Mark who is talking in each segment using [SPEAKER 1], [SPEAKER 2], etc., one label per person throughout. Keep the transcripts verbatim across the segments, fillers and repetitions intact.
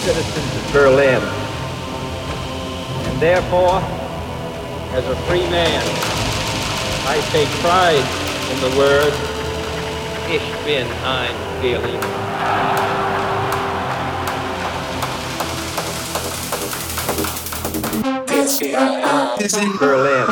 [SPEAKER 1] citizens of Berlin. And therefore, as a free man, I take pride in the word, Ich bin ein Berliner. This is Berlin.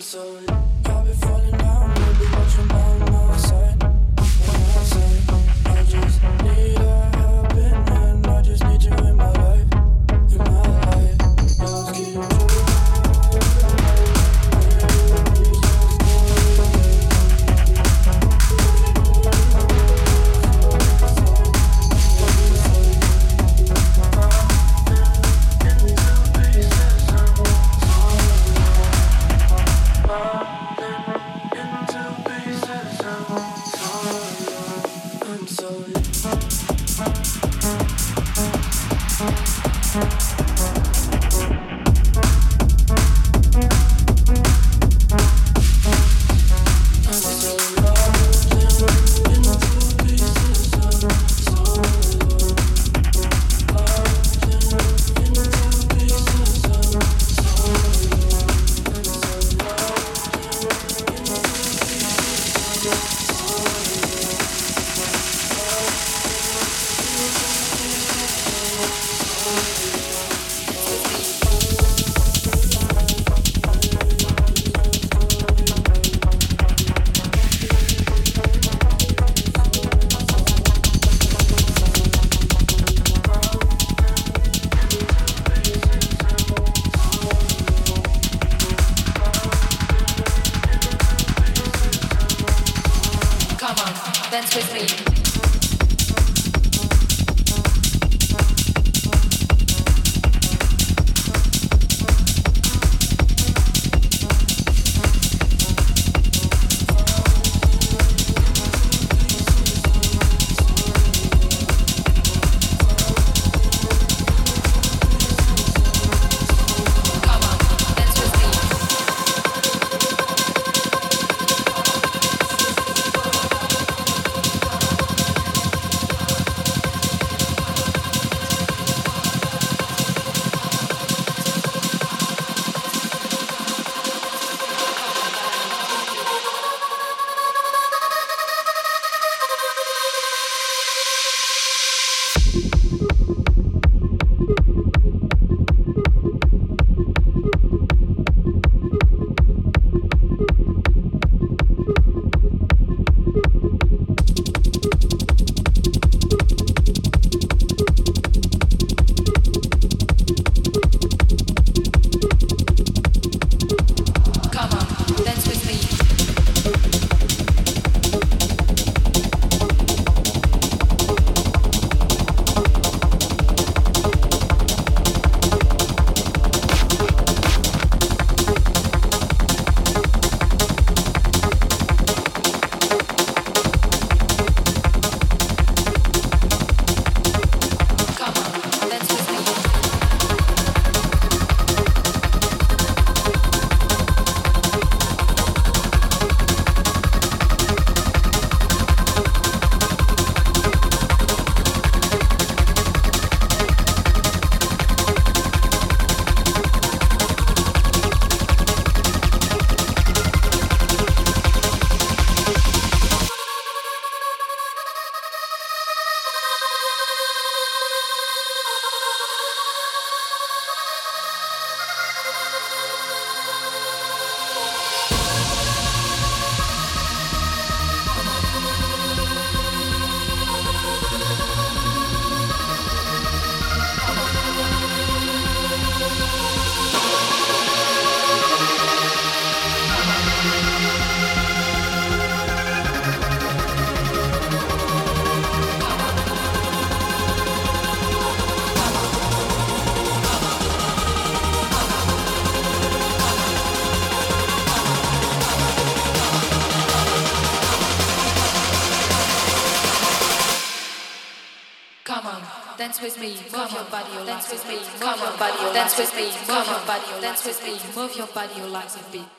[SPEAKER 2] dance with me, move your body, your dance with me, move your body, your dance with me, move your body, your dance with me, move your body, your legs a beat.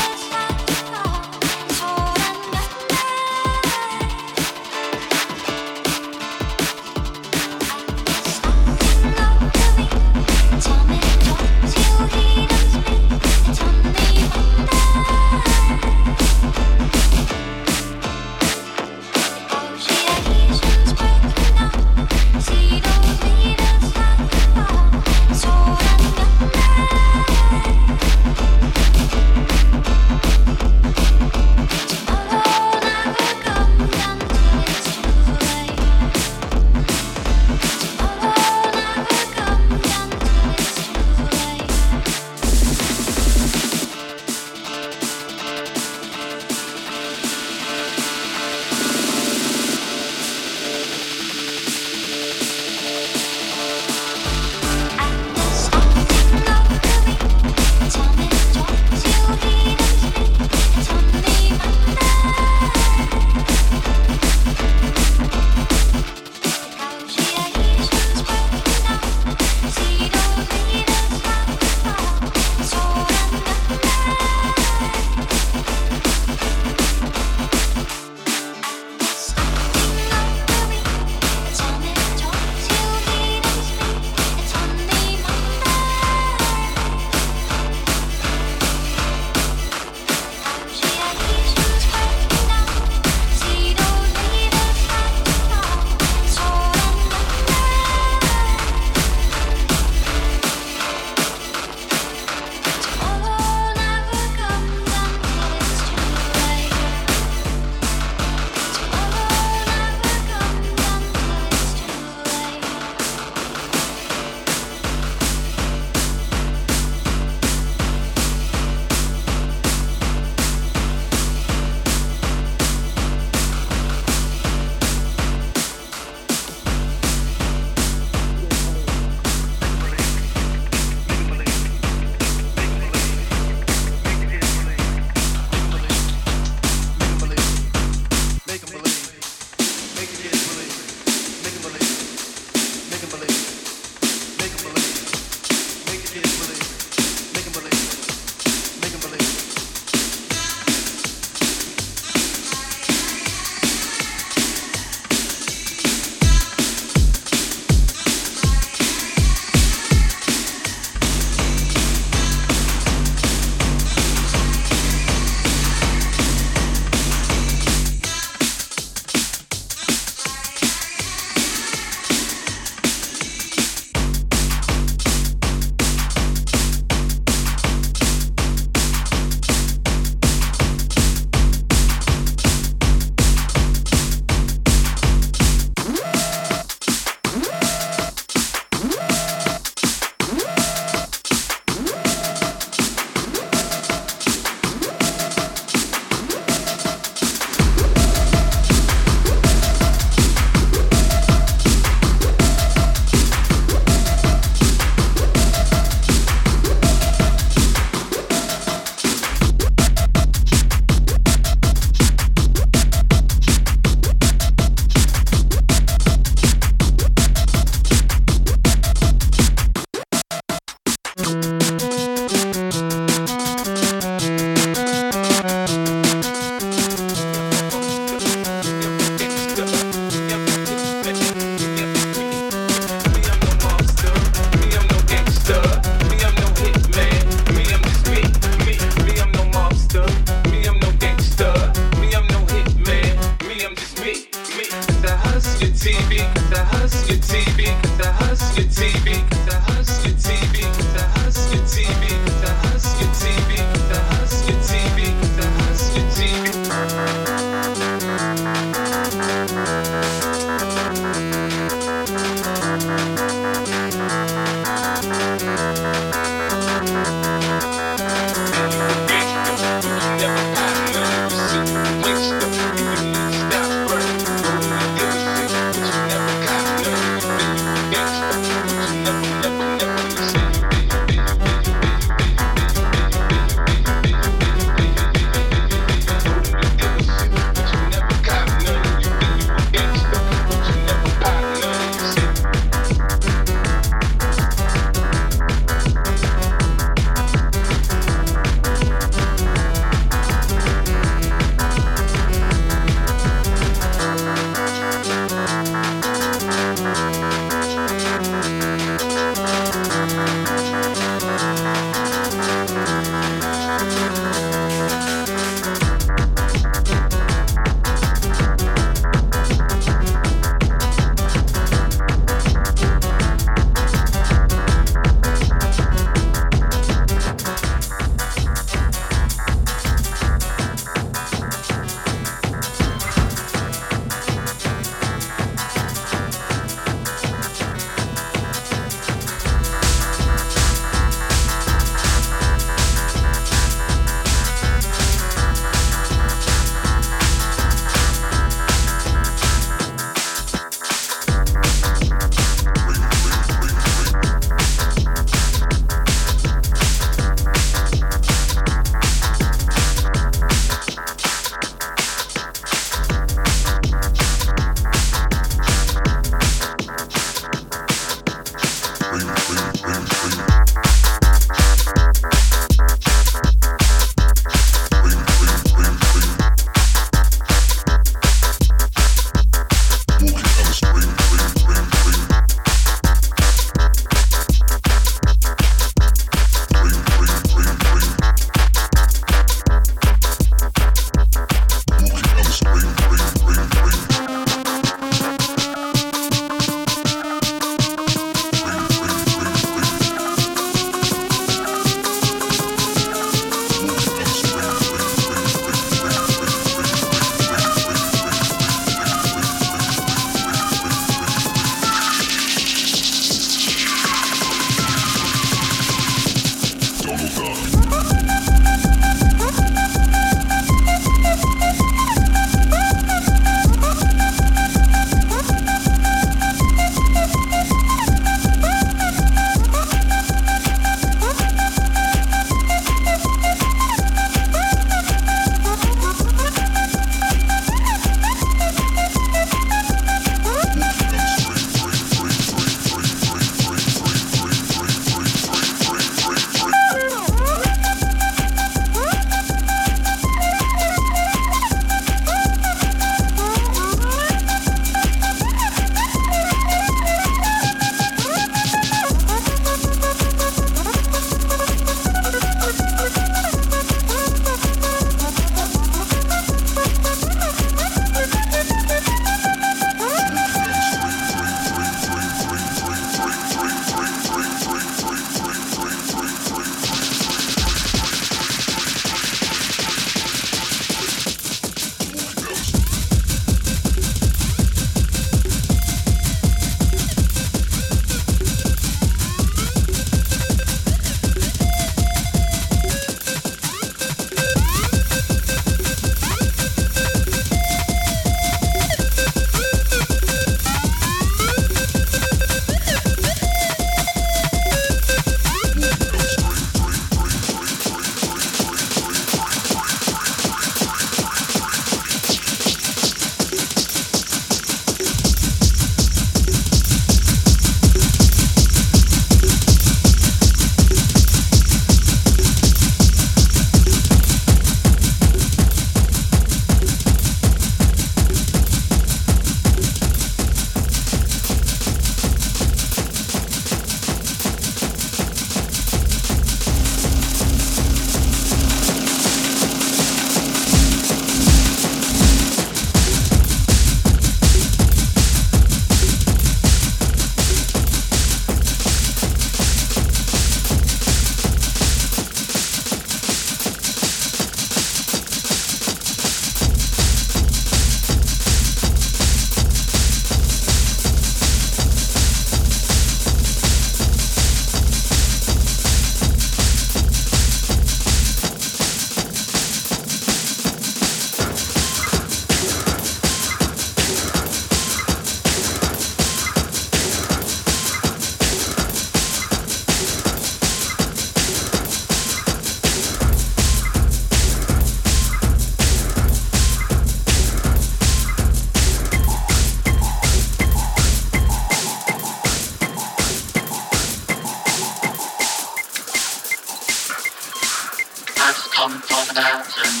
[SPEAKER 3] von Herzen.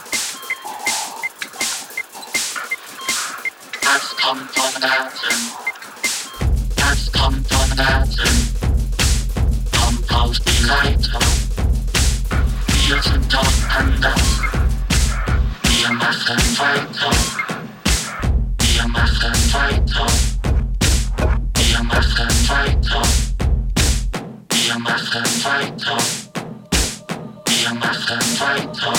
[SPEAKER 3] Das kommt von Herzen. Das kommt von Herzen. Kommt aus die Leitung. Wir sind doch anders. Wir machen weiter. Wir machen weiter. Wir machen weiter. Wir machen weiter. Wir machen weiter.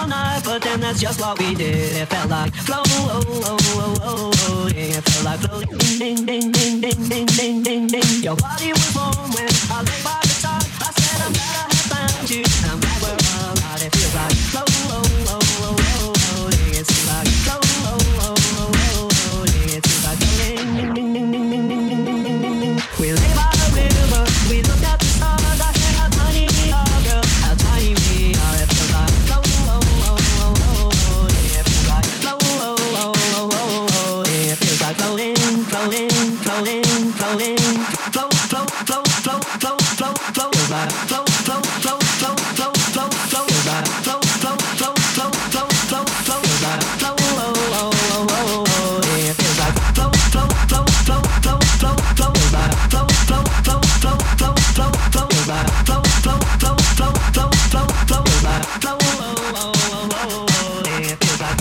[SPEAKER 4] all night, but then that's just what we did. It felt like flow, oh, oh, oh, oh, oh. Yeah, it felt like flow, ding, ding, ding, ding, ding, ding, ding, ding, ding. Your body was warm when I lay by the side. I said I'm glad I have found you. I'm glad we're alive. It feels like flow, oh, oh, oh, oh, oh. Yeah, it feels like flow, oh, oh, oh, oh, oh. Yeah, it feels like ding, ding, ding, ding, ding, ding, ding, ding, ding, ding, ding. We lay by the river, we looked at the stars. I said how tiny we are, girl, how tiny we are. It feels like flow, oh, oh, oh, oh, oh. Yeah, it feels like flow, oh, oh, oh, oh, oh. Yeah, it feels like floating, floating, floating, floating, flow, flow, flow, flow, flow, flow, flow. Feels like flow, flow, flow, flow, flow, flow, flow. Feels like flow, flow, flow, flow, flow, flow, flow. Feels like flow, oh, oh, oh, oh, oh. Yeah, it feels like flow, flow, flow, flow, flow, flow, flow. Feels like flow, flow, flow, flow, flow, flow, flow. Feels like flow, flow, flow, flow, flow, flow, flow. Feels like flow, oh, oh, oh, oh, oh. Yeah, it feels like.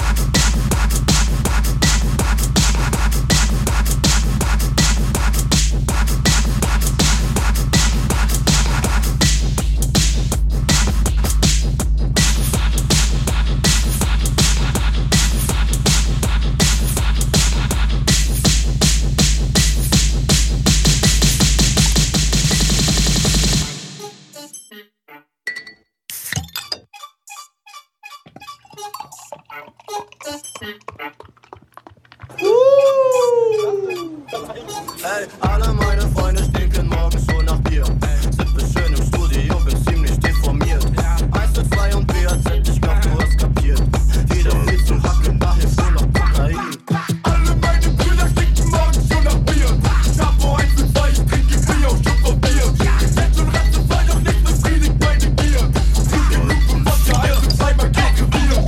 [SPEAKER 5] Ey, alle meine Freunde stinken morgens so nach Bier. Sippe schön im Studio, bin ziemlich deformiert. Eis mit zwei und B A Z, ich glaub, du hast kapiert. Wieder viel zu hacken, da hilft nur noch Kokain. Alle meine Brüder stinken morgens so nach Bier. Chapo eins mit zwei, ich trinke Bier auf Schuss auf Bier. Jetzt und Reste fall doch nicht befriedigt meine Gier. Trink genug und Wodka, eins mit zweimal gegen Bier.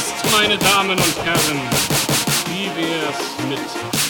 [SPEAKER 6] jetzt, meine Damen und Herren, wie wär's mit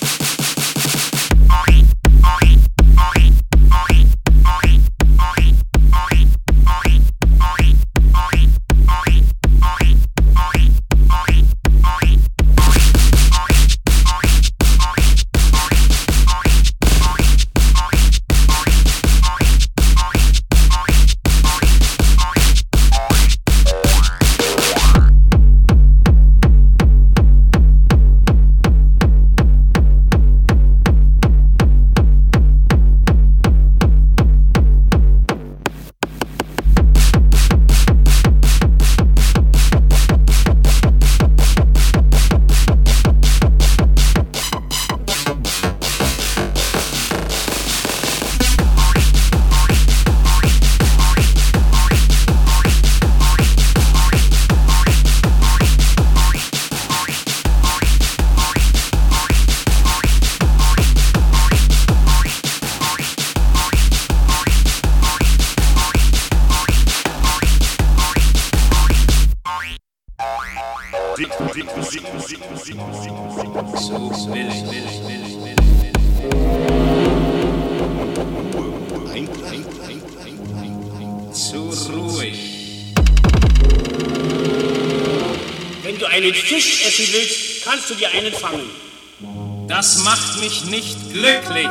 [SPEAKER 7] kannst du dir einen fangen.
[SPEAKER 8] Das macht mich nicht glücklich.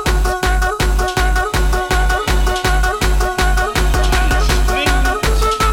[SPEAKER 6] Schläft.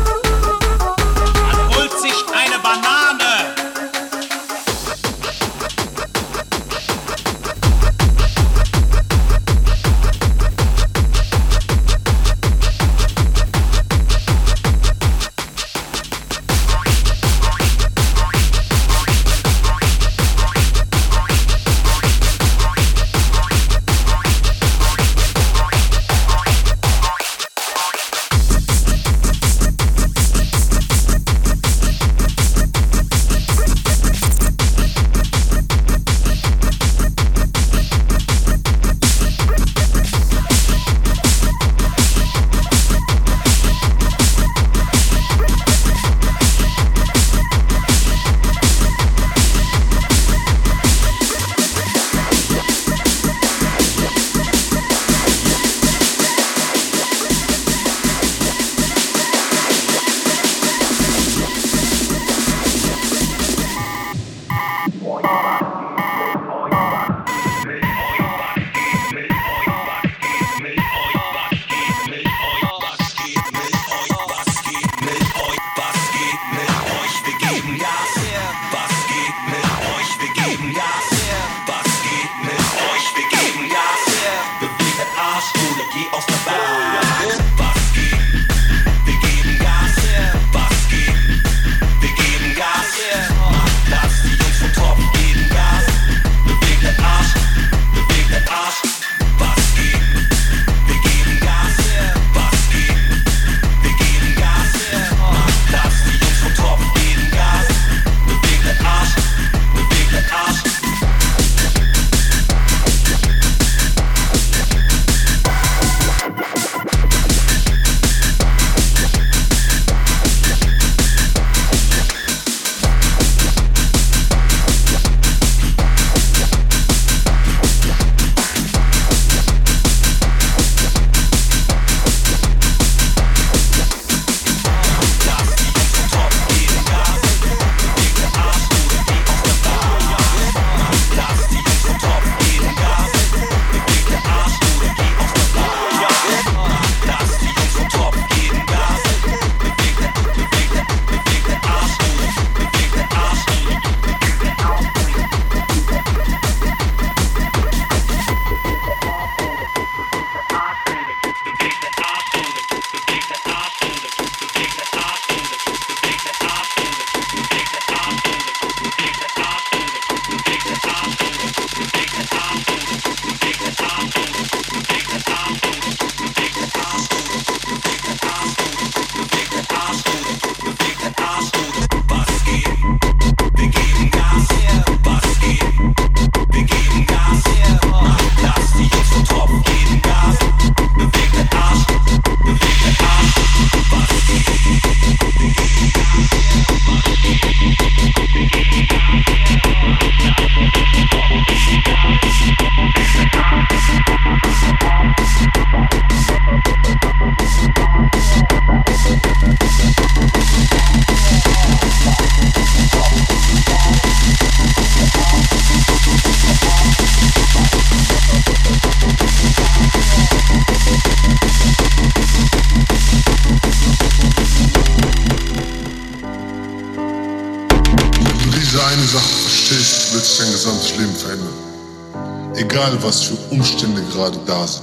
[SPEAKER 7] egal was für Umstände gerade da sind.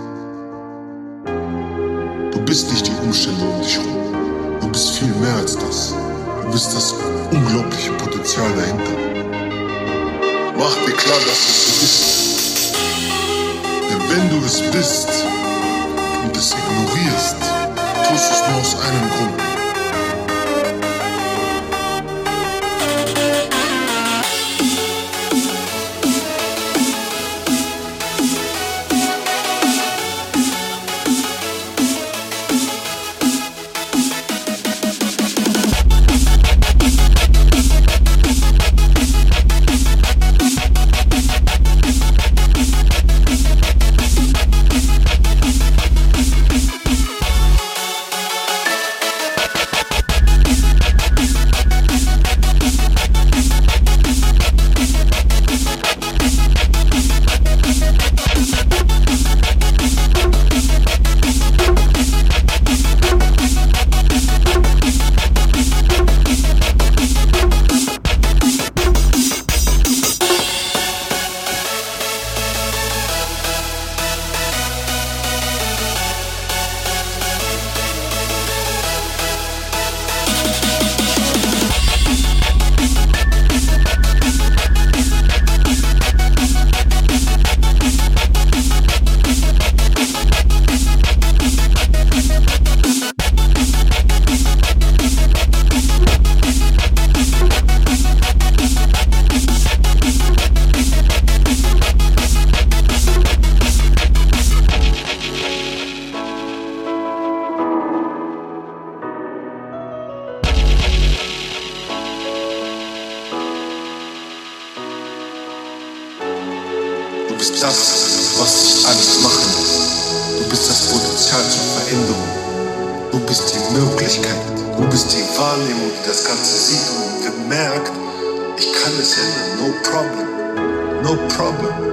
[SPEAKER 7] Du bist nicht die Umstände um dich herum. Du bist viel mehr als das. Du bist das unglaubliche Potenzial dahinter. Mach dir klar, dass es so ist. Denn wenn du es bist und es ignorierst, tust du es nur aus einem Grund. Du bist das, was dich alles machen lässt. Du bist das Potenzial zur Veränderung. Du bist die Möglichkeit. Du bist die Wahrnehmung, die das Ganze sieht und bemerkt, ich kann es ändern. No problem. No problem.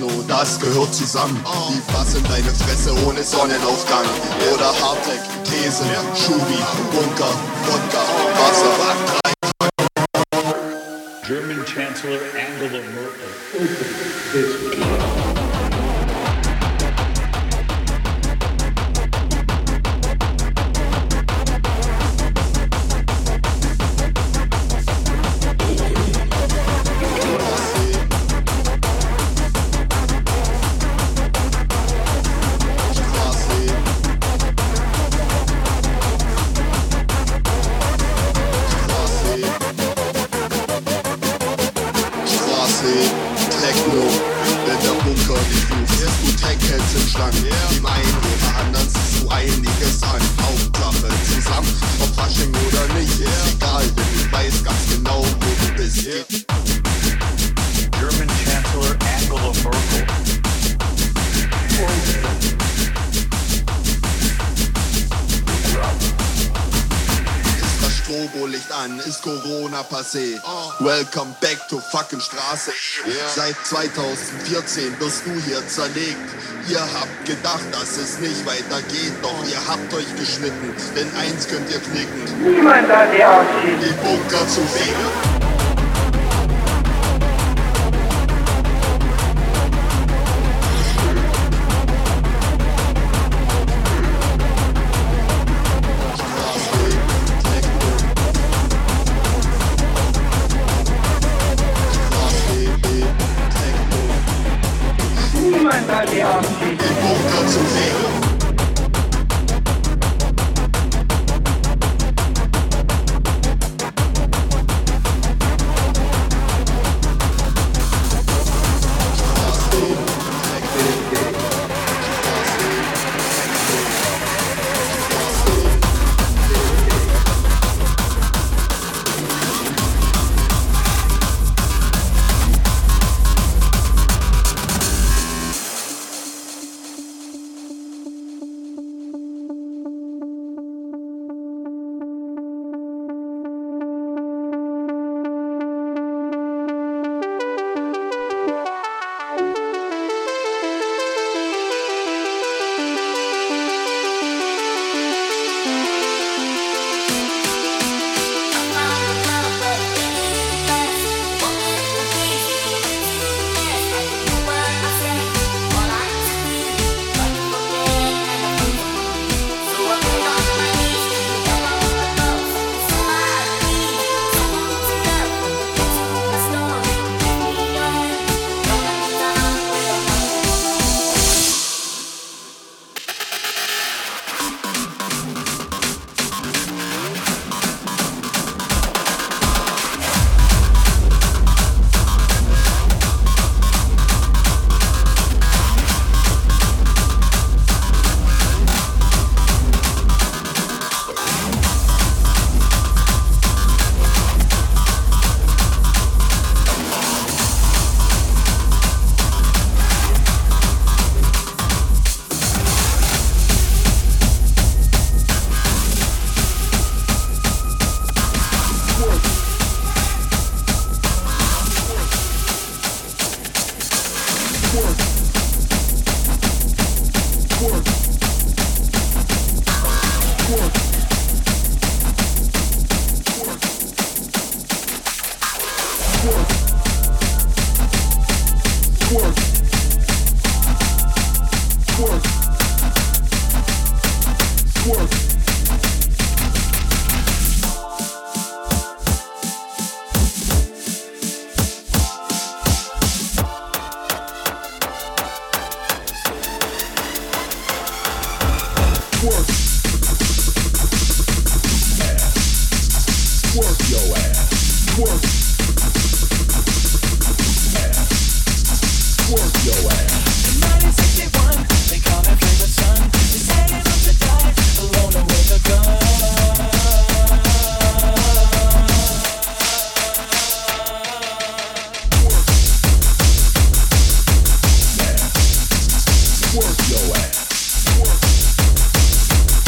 [SPEAKER 7] Techno, das gehört zusammen. Die Bass in deine Fresse ohne Sonnenaufgang. Oder Hardtech, These, Schubi, Bunker, Wodka, Wasser,
[SPEAKER 9] German Chancellor Angela Merkel.
[SPEAKER 7] Ist Corona passé. Welcome back to fucking Straße. Yeah. Seit zweitausendvierzehn wirst du hier zerlegt. Ihr habt gedacht, dass es nicht weitergeht, doch ihr habt euch geschnitten, denn eins könnt ihr knicken.
[SPEAKER 10] Niemand hat die Ausschied.
[SPEAKER 7] Die Bunker zu fegen.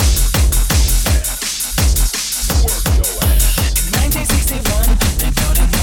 [SPEAKER 4] nineteen sixty-one, they built an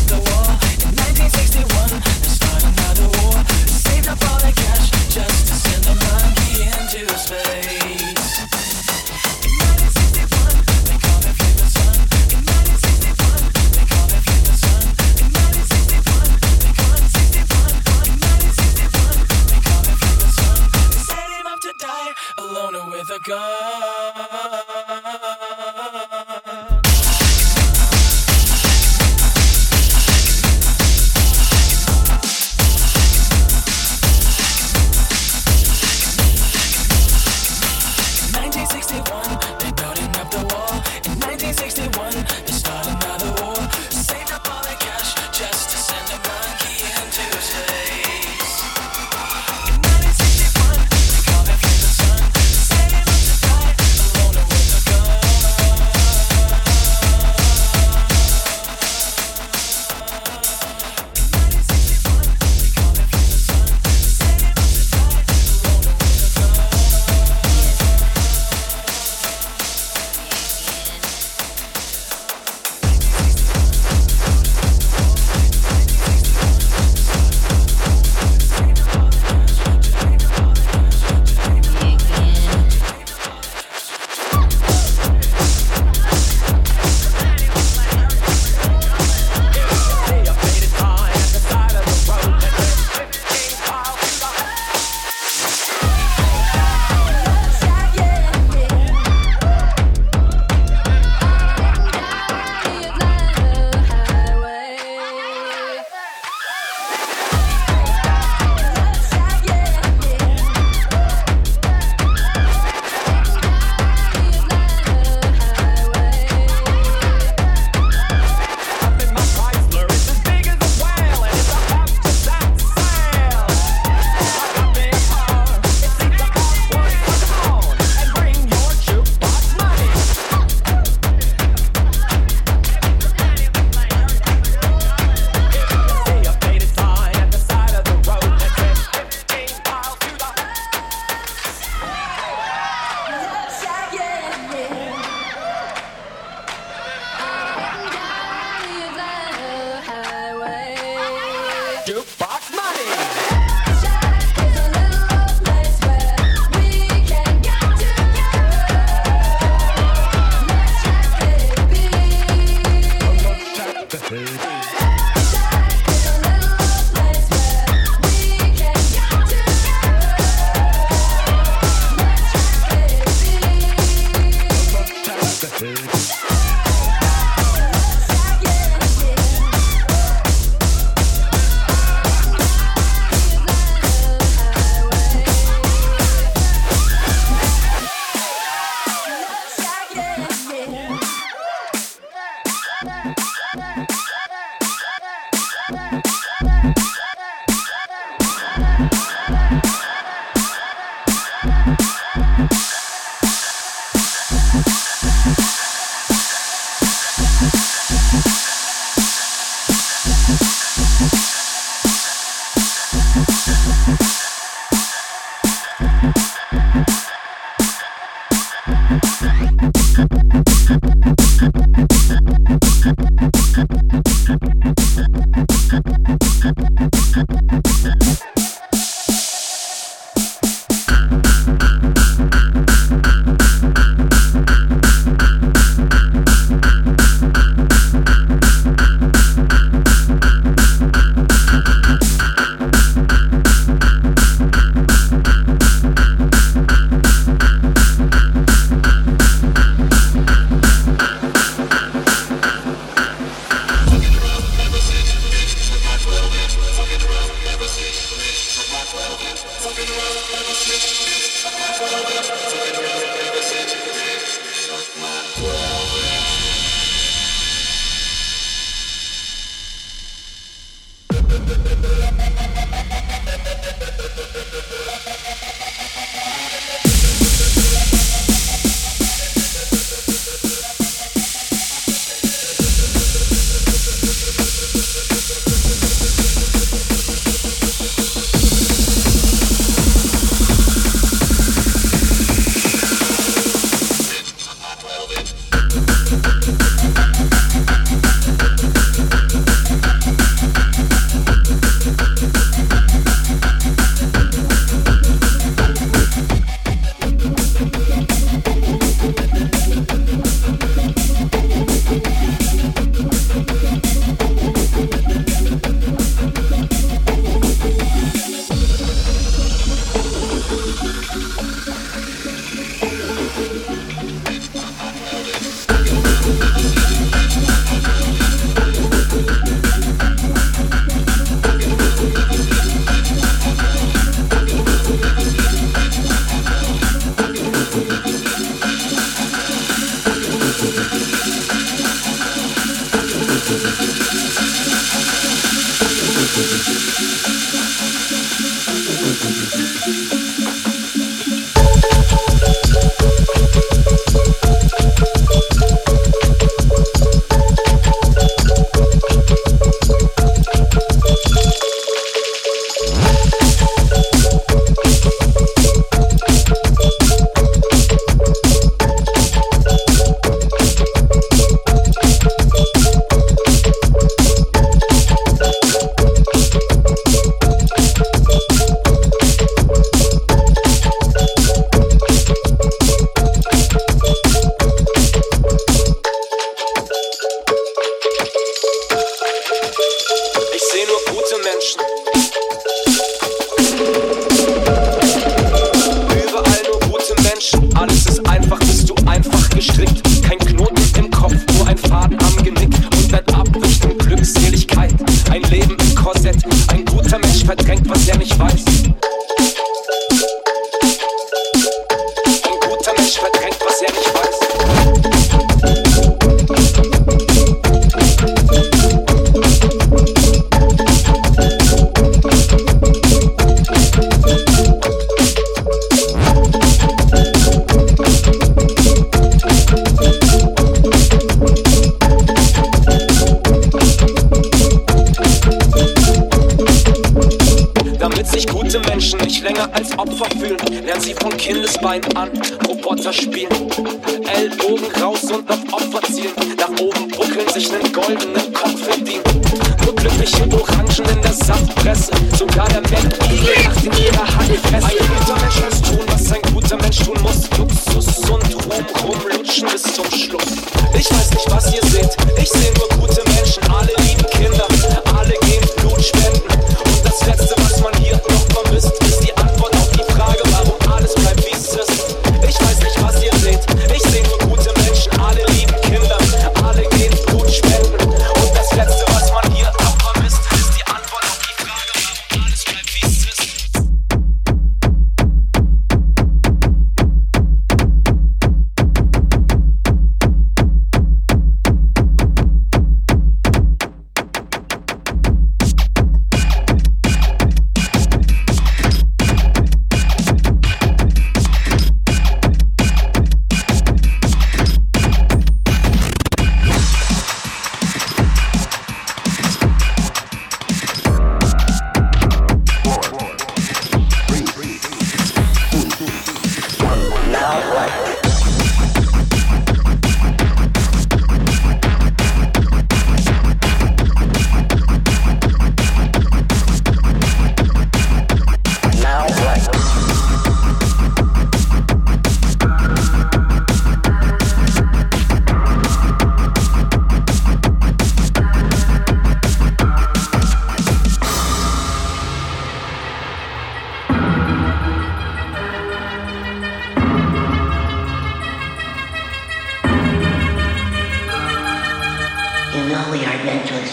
[SPEAKER 10] länger als Opfer fühlen. Lernen sie von Kindesbein an Roboter spielen. Ellbogen raus und auf Opfer zielen. Nach oben buckeln, sich nen goldenen Kopf verdienen. Nur glückliche Orangen in der Saftpresse. Sogar der Mensch lacht in ihrer Handfest. Ein guter Mensch muss tun, was ein guter Mensch tun muss. Luxus und Ruhm rumlutschen bis zum Schluss. Ich weiß nicht, was ihr seht. Ich seh nur gute Menschen, alle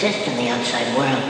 [SPEAKER 11] exist in the outside world.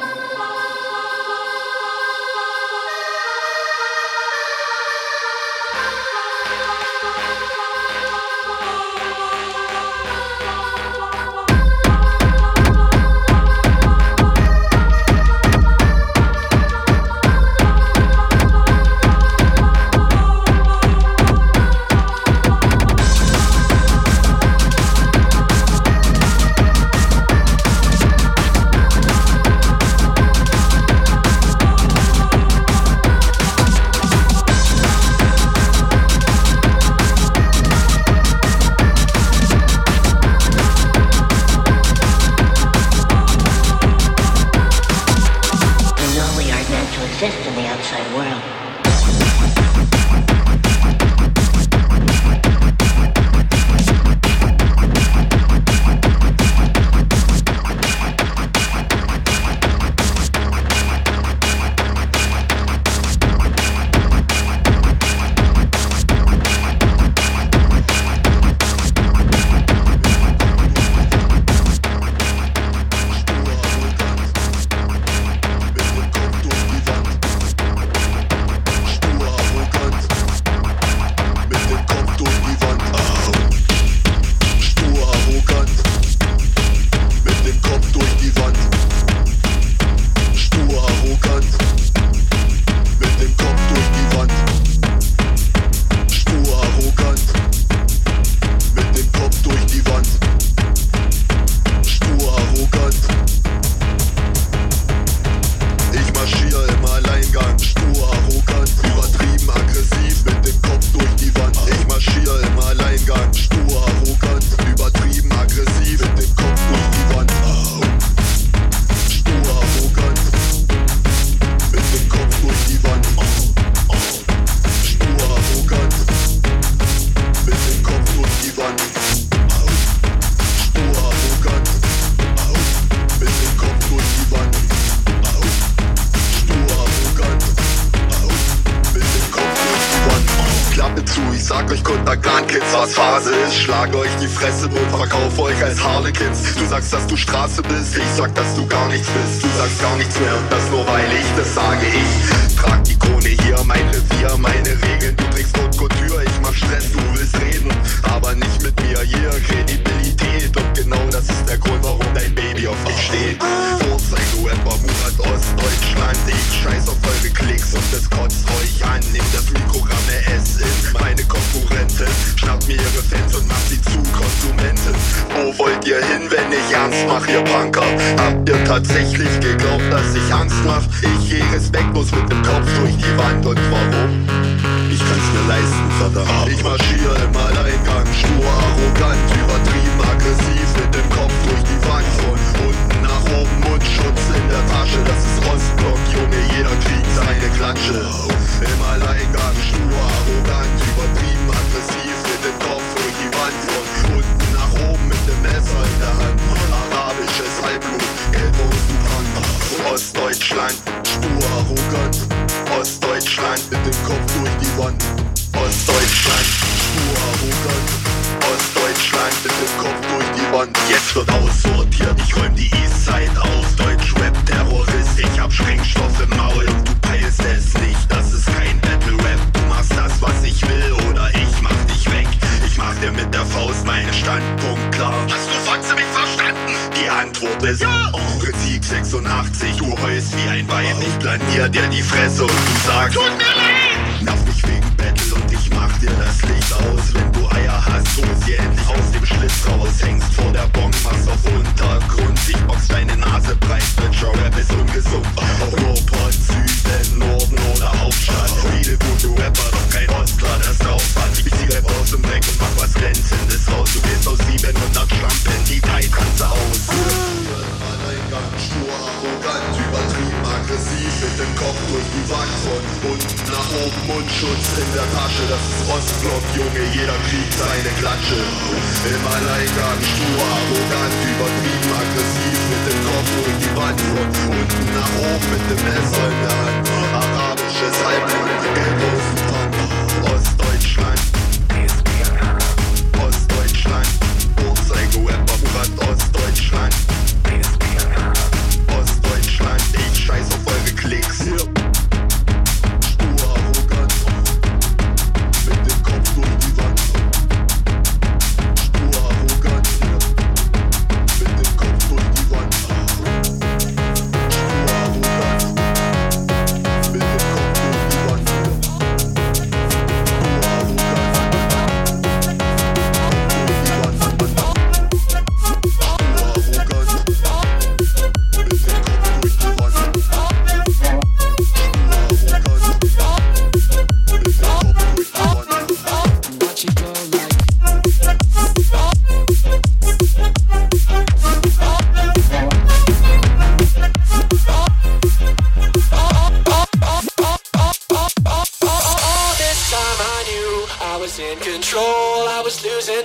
[SPEAKER 12] Sagt euch Kuntergan-Kids, was Phase ist. Schlag euch die Fresse und verkauf euch als Harlequins. Du sagst, dass du Straße bist, ich sag, dass du gar nichts bist. Du sagst gar nichts mehr und das nur weil ich das sage. Ich trag die Krone hier, mein Revier, meine Regeln. Du trägst Haute Couture, ich mach Stress, du willst reden, aber nicht mit mir. Hier Kredibilität und genau das ist der Grund, warum dein Baby auf mich steht. Vorzeige-Rapper, Murat Ostdeutschland. Ich scheiß auf eure Klicks und das kotzt euch an. Nehmt das Mikrogramm S in meine Konkurrentin, schnappt mir ihre Fans und macht sie zu Konsumenten. Wo wollt ihr hin, wenn ich ernst mach, ihr Punker? Habt ihr tatsächlich geglaubt, dass ich Angst mach? Ich geh respektlos mit dem Kopf durch die Wand und warum? Ich kann's mir leisten, verdammt. Ich marschiere im Alleingang, stur, arrogant, übertrieben, aggressiv, mit dem Kopf durch die Wand. Von unten nach oben, Mundschutz in der Tasche, das ist Ostblock, Junge, jeder kriegt seine Klatsche. Im Alleingang, stur, arrogant, übertrieben, aggressiv, mit dem Kopf durch die Wand. Von unten nach oben, mit dem Messer in der Hand. Arabisches Halbblut, gelb und Sudan. Ostdeutschland, stur, arrogant. Ostdeutschland, mit dem Kopf durch die Wand. Ostdeutschland, stur, arrogant. Ostdeutschland, mit dem Kopf durch die Wand. Jetzt wird aussortiert, ich räum die Eastside auf. Deutsch-Rap-Terrorist, ich hab Sprengstoff im Maul und du peilst es nicht, das ist kein Battle-Rap. Du machst das, was ich will, oder ich mach dich weg. Ich mach dir mit der Faust meinen Standpunkt klar. Hast du Fotze mich verstanden? Die Antwort ist ja. Prinzip sechsundachtzig, du heulst wie ein Weib. Ich planier dir die Fresse und du sagst, tut mir leid! Nerv mich wegen Battle und ich mach dir das Licht aus. Wenn du Eier hast, hol sie endlich aus dem Schlitz raus. Hängst vor der Bombe, machst auf Untergrund. Ich box deine Nase breit, Rap ist ungesund. Ruhrpott, Süden, Norden oder Hauptstadt. Viele gute Rapper, doch kein Ostler, das aufhat. Ich zieh Rap aus dem Dreck und mach was Glänzendes raus. Du gehst aus siebenhundert Schlampen, die drei Tanze aus. Alleingang, stur, arrogant, übertrieben, aggressiv, mit dem Kopf durch die Wand. Von unten nach oben, Mundschutz in der Tasche, das ist Ostblock, Junge, jeder kriegt seine Klatsche. Im Alleingang, stur, arrogant, übertrieben, aggressiv, mit dem Kopf durch die Wand. Von unten nach oben, mit dem Messer in der Hand. Arabisches Halbblut, gelb aus dem Brand. Ostdeutschland, Ostdeutschland, Vorzeige-Rapper, Murat Ostdeutschland.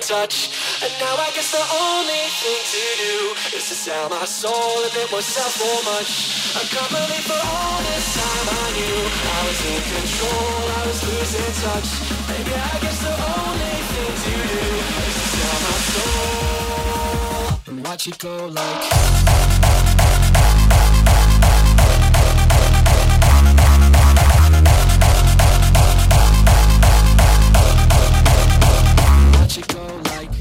[SPEAKER 10] touch. And now I guess the only thing to do is to sell my soul and it won't sell for much. I can't believe for all this time I knew I was in control, I was losing touch. Maybe I guess the only thing to do is to sell my soul and watch it go like watch it go like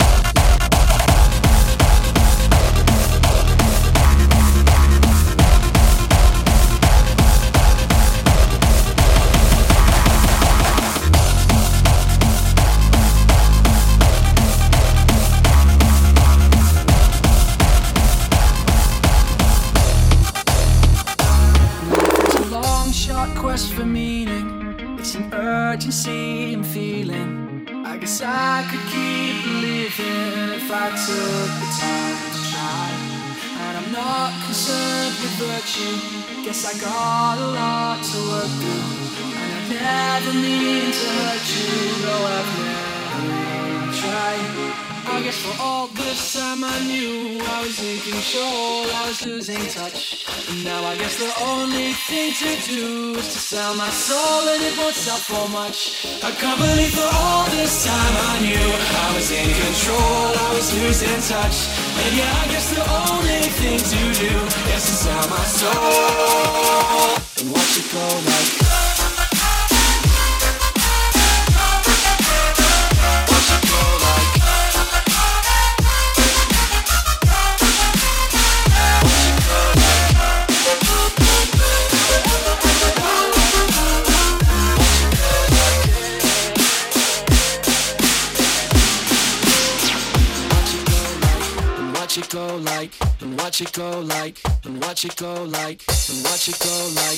[SPEAKER 10] quest for meaning, it's an urgency I'm feeling. I guess I could keep living if I took the time to try. And I'm not concerned with virtue, guess I got a lot to work through. And I never mean to hurt you, though I've never even tried. I guess for all this time I knew I was in control, I was losing touch. And now I guess the only thing to do is to sell my soul and it won't sell for much. I can't believe for all this time I knew I was in control, I was losing touch. And yeah, I guess the only thing to do is to sell my soul and watch it go like watch it go like, and watch it go like, and watch it go like, and watch it go like.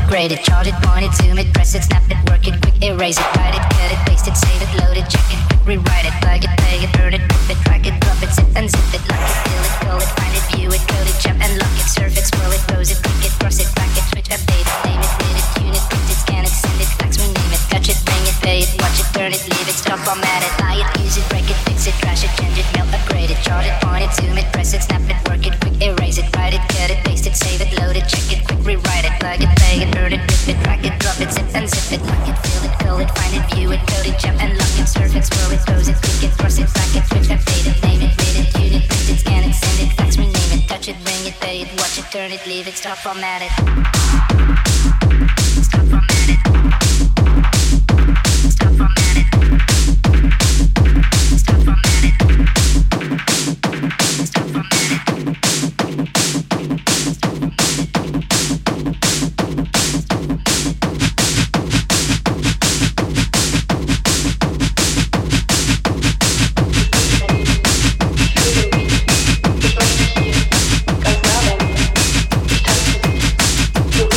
[SPEAKER 11] upgrade it, charge it, point it, zoom it, press it, snap it, work it, quick erase it, write it, cut it, paste it, save it, load it, check it, quick rewrite it, plug it, play it, burn it, rip it, drag it, drop it, zip and zip it, lock it, fill it, call it, find it, view it, code it, jump and lock it, surf it, scroll it, pose it, click it, cross it, back it, switch, update it, name it, read it, tune it, print it, scan it, send it, fax, rename it, touch it, bring it, pay it, watch it, turn it, leave it, stop, format it, buy it, use it, break it, fix it, trash it, change it, mail, upgrade it, chart it, point it, zoom it, press it, snap it, work it, quick erase it, write it, cut it, paste it, save it, load it, check it, quick rewrite it, plug it, play it, burn it, rip it, drag it, drop it, zip and zip it, lock it, fill it, call it, find it, view it, code it, jump and lock it, surf it, scroll it, pose it, click it, cross it, back it, switch, update it, name it, read it, tune it, print it, scan it, send it, fax, rename it, touch it, bring it, pay it, watch it, turn it, leave it, stop, format it. Stop, format it. Stop, format it. Stop, format it. Stop, format it.
[SPEAKER 13] Du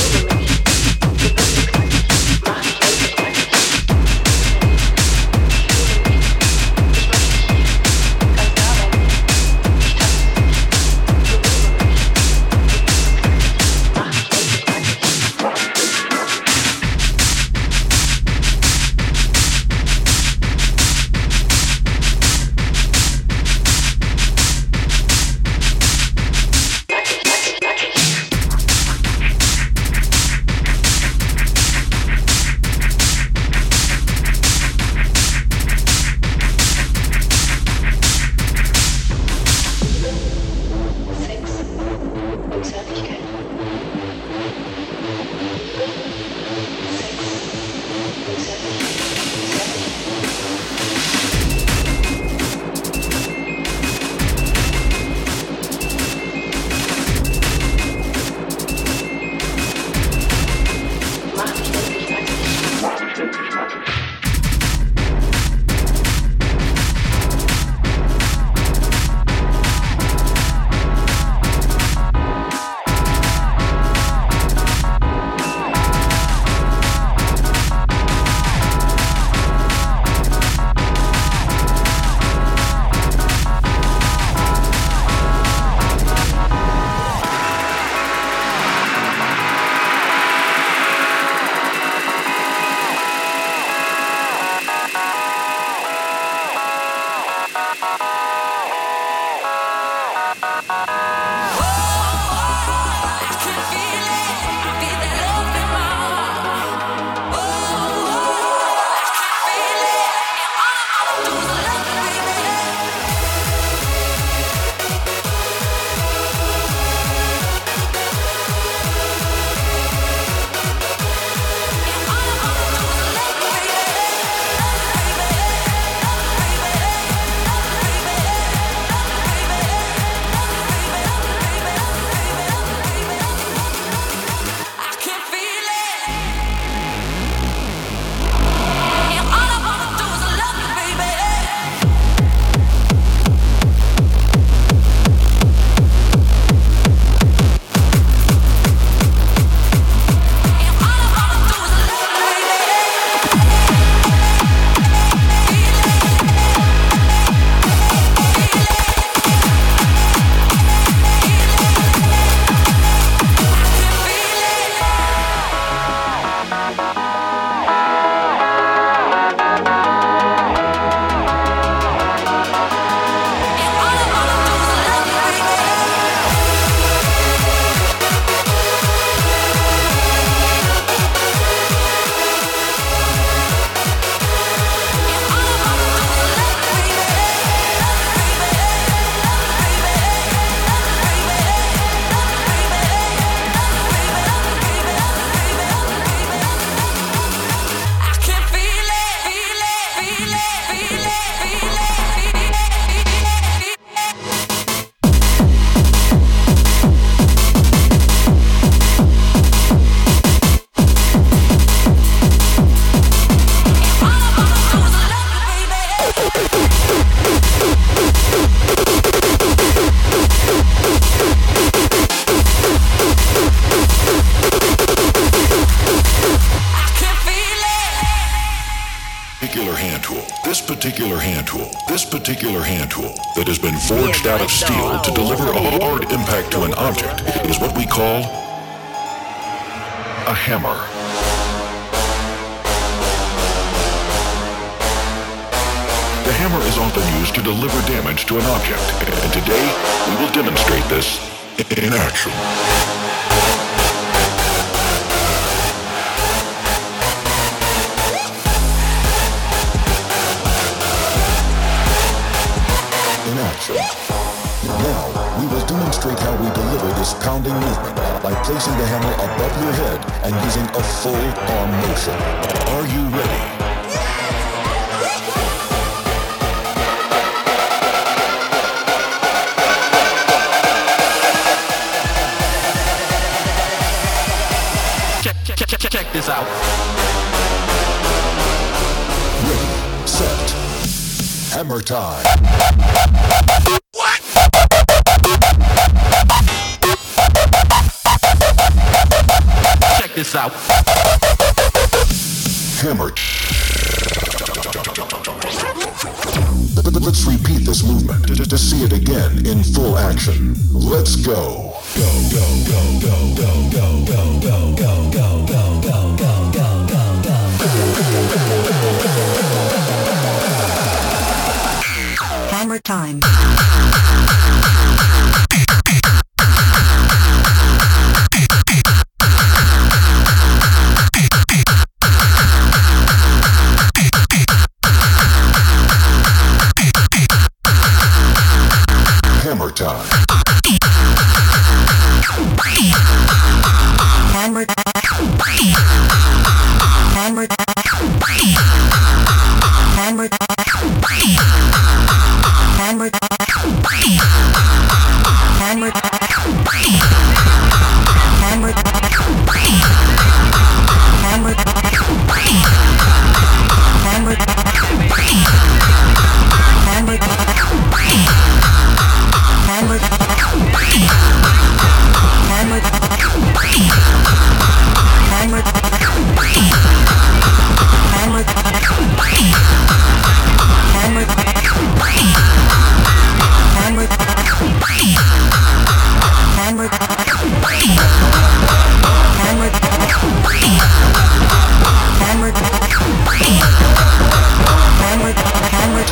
[SPEAKER 13] particular hand tool, this particular hand tool that has been forged out of steel to deliver a hard impact to an object is what we call a hammer. The hammer is often used to deliver damage to an object, and today we will demonstrate this in action. In action. Now, we will demonstrate how we deliver this pounding movement by placing the hammer above your head and using a full arm motion. Are you ready?
[SPEAKER 14] Check, check, check, check this out.
[SPEAKER 13] Ready, set, hammer time.
[SPEAKER 14] Check this out.
[SPEAKER 13] Hammer. Let's repeat this movement to, to see it again in full action. Let's go. Go, go, go, go, go, go, go, go, go, go, go, go, go, go, go.
[SPEAKER 15] Hammer time.
[SPEAKER 13] Hammer time.
[SPEAKER 15] Hammer. Hammer. Hammer. Hammer. Hammer. Hammer. Hammer. Hammer. Hammer. Hammer. Hammer. Hammer. Hammer. Hammer. Hammer. Hammer. Hammer. Hammer. Hammer.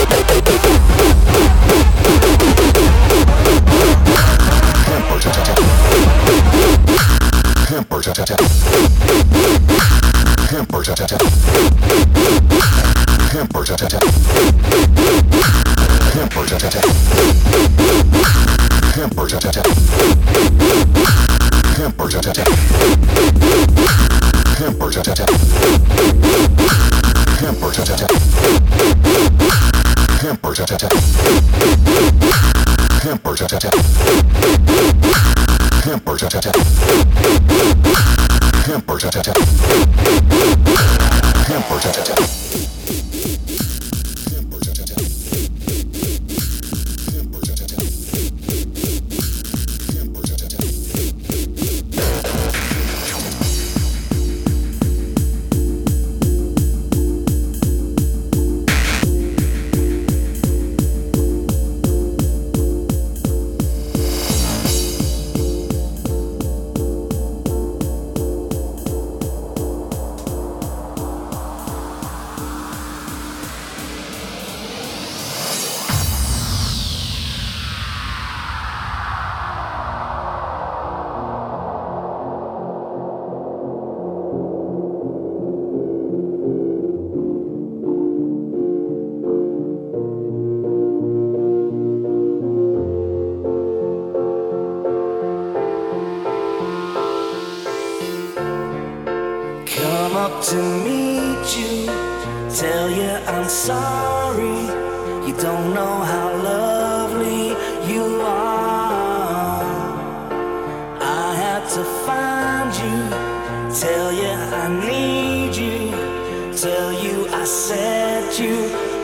[SPEAKER 4] To meet you, tell you I'm sorry. You don't know how lovely you are. I had to find you, tell you I need you, tell you I set you